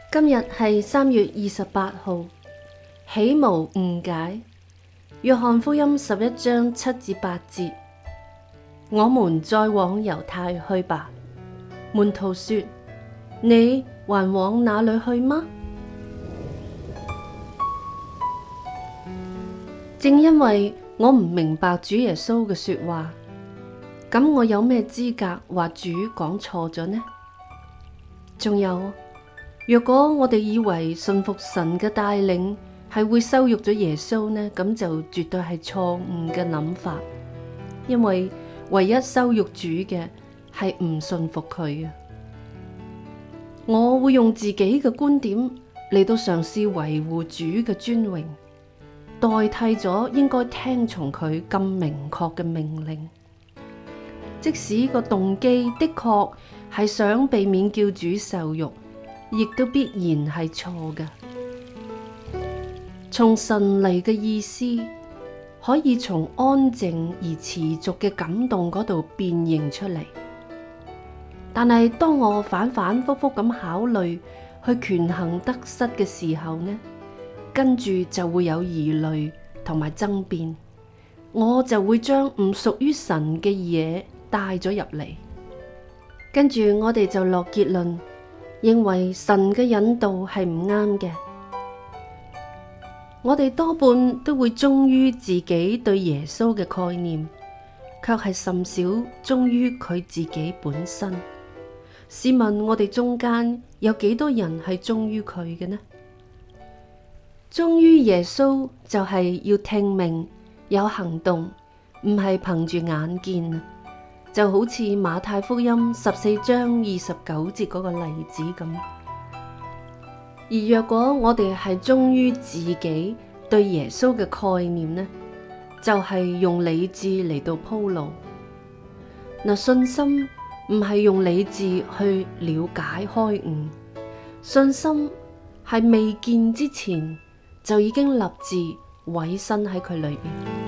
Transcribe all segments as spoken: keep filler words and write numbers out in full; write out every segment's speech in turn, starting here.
今日係三月二十八號，豈無誤解。約翰福音十一章七至八節，我們再往猶太去吧。門徒說：你還往哪裏去嗎？正因為我唔明白主耶穌嘅說話，咁我有咩資格話主講錯咗呢？仲有，若果我哋以為信服神嘅帶領係會羞辱咗耶穌呢，咁就絕對係錯誤嘅諗法，因為唯一羞辱主嘅係唔信服佢啊！我會用自己嘅觀點嚟到嘗試維護主嘅尊榮，代替咗應該聽從佢咁明確嘅命令。即使個動機的確係想避免叫主受辱，亦都必然係錯嘅。從神嚟嘅意思，可以從安靜而持續嘅感動嗰度辨認出嚟。但係當我反反复复咁考慮去權衡得失嘅時候呢，跟住就會有疑慮同埋爭辯，我就會將唔屬於神嘅嘢帶咗入嚟，跟住我哋就落結論，認為神嘅引導係唔啱嘅。我哋多半都會忠於自己對耶穌嘅概念，卻係甚少忠於佢自己本身。試問我哋中間有幾多人係忠於佢嘅呢？忠於耶穌就係要聽命有行動，唔係憑住眼見。就好似馬太福音十四章二十九節嗰個例子咁。而若果我哋係忠於自己對耶穌嘅概念呢，就係用理智嚟到鋪路。嗱，信心唔係用理智去了解開悟，信心係未見之前就已經立志委身喺佢裏邊。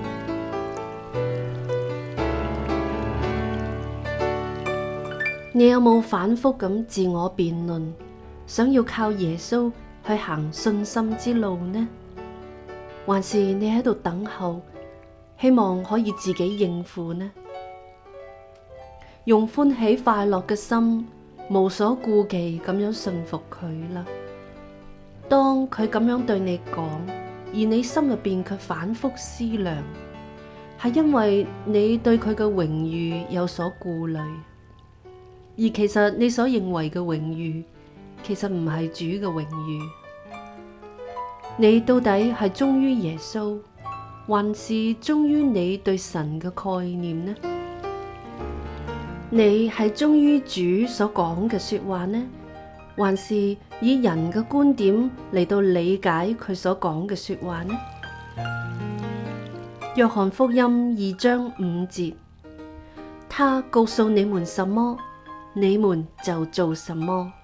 你有冇反覆咁自我辯論，想要靠耶穌去行信心之路呢？還是你喺度等候，希望可以自己應付呢？用歡喜快樂嘅心，無所顧忌咁樣信服佢啦。當佢咁樣對你講，而你心入邊卻反覆思量，係因為你對佢嘅榮譽有所顧慮。而其實你所認為嘅榮譽，其實唔係主嘅榮譽。你到底係忠於耶穌，還是忠於你對神嘅概念呢？你係忠於主所講嘅說話呢，還是以人嘅觀點嚟到理解佢所講嘅說話呢？約翰福音二章五節，他告訴你們什麼，你們就做什麼。